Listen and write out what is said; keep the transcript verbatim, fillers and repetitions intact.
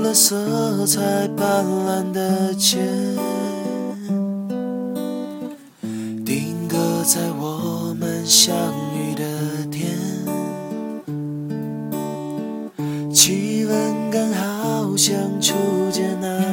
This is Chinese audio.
个色彩斑斓的街，定格在我们相遇的天，气氛刚好像初见那